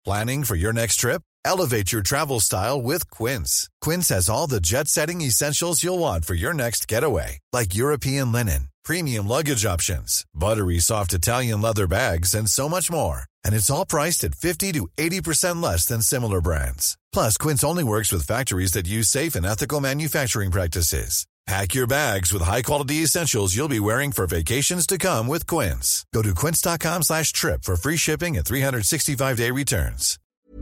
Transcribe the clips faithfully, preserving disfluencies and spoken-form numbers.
Planning for your next trip? Elevate your travel style with Quince. Quince has all the jet-setting essentials you'll want for your next getaway, like European linen, premium luggage options, buttery soft Italian leather bags, and so much more. And it's all priced at fifty to eighty percent less than similar brands. Plus, Quince only works with factories that use safe and ethical manufacturing practices. Pack your bags with high-quality essentials you'll be wearing for vacations to come with Quince. Go to quince.com slash trip for free shipping and three sixty-five day returns.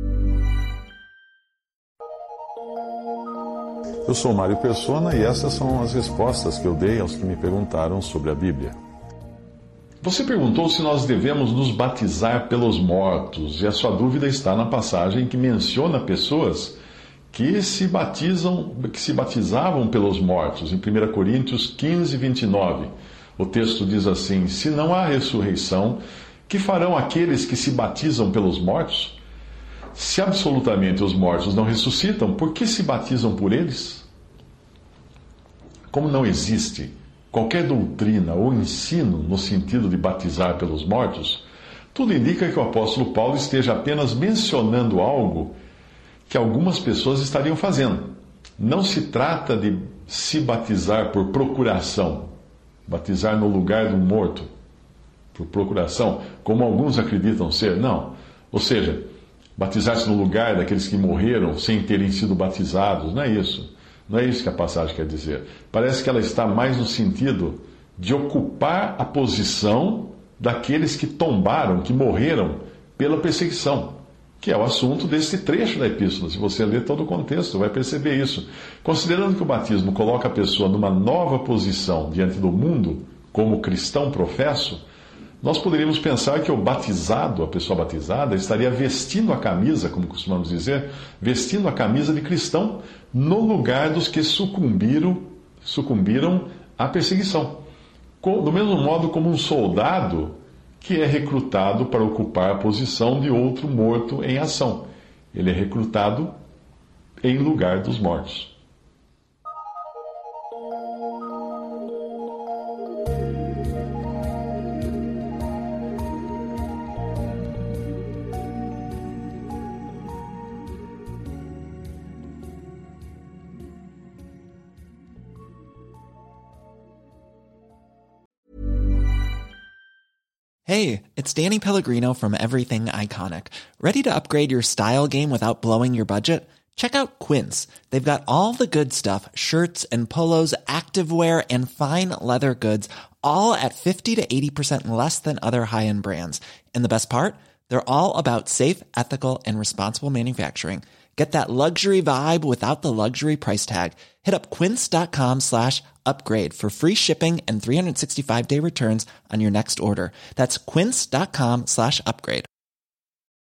Eu sou Mário Persona e essas são as respostas que eu dei aos que me perguntaram sobre a Bíblia. Você perguntou se nós devemos nos batizar pelos mortos, e a sua dúvida está na passagem que menciona pessoas que se batizam, que se batizavam pelos mortos, em primeira Coríntios quinze, vinte e nove. O texto diz assim: se não há ressurreição, que farão aqueles que se batizam pelos mortos? Se absolutamente os mortos não ressuscitam, por que se batizam por eles? Como não existe qualquer doutrina ou ensino no sentido de batizar pelos mortos, tudo indica que o apóstolo Paulo esteja apenas mencionando algo que algumas pessoas estariam fazendo. Não se trata de se batizar por procuração, batizar no lugar do morto, por procuração, como alguns acreditam ser. Não. Ou seja, batizar-se no lugar daqueles que morreram sem terem sido batizados. Não é isso. Não é isso que a passagem quer dizer. Parece que ela está mais no sentido de ocupar a posição daqueles que tombaram, que morreram pela perseguição, que é o assunto desse trecho da epístola. Se você ler todo o contexto, vai perceber isso. Considerando que o batismo coloca a pessoa numa nova posição diante do mundo, como cristão professo, nós poderíamos pensar que o batizado, a pessoa batizada, estaria vestindo a camisa, como costumamos dizer, vestindo a camisa de cristão no lugar dos que sucumbiram, sucumbiram à perseguição. Do mesmo modo como um soldado que é recrutado para ocupar a posição de outro morto em ação. Ele é recrutado em lugar dos mortos. Hey, it's Danny Pellegrino from Everything Iconic. Ready to upgrade your style game without blowing your budget? Check out Quince. They've got all the good stuff, shirts and polos, activewear, and fine leather goods, all at fifty to eighty percent less than other high-end brands. And the best part? They're all about safe, ethical, and responsible manufacturing. Get that luxury vibe without the luxury price tag. Hit up quince.com slash upgrade for free shipping and three sixty-five day returns on your next order. That's quince.com slash upgrade.